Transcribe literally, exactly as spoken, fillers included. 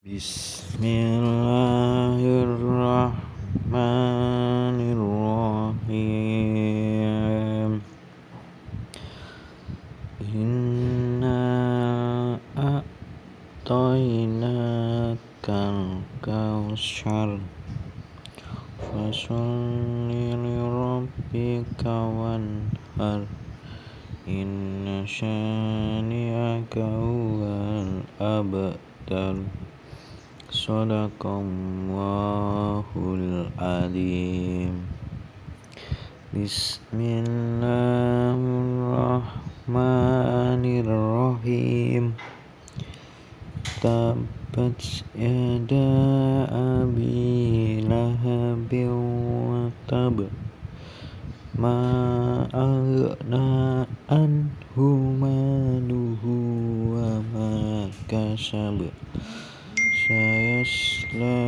Bismillahirrahmanirrahim. Inna a'tainakal kautsar fasholli lirabbika wanhar inna syani'aka huwal abtar. Shadaqallahul adzim. Bismillahirrahmanirrahim. Tabbat yada abi lahabin wa tab. Ma aghna anhu maluhu wa ma kasab. Sayasla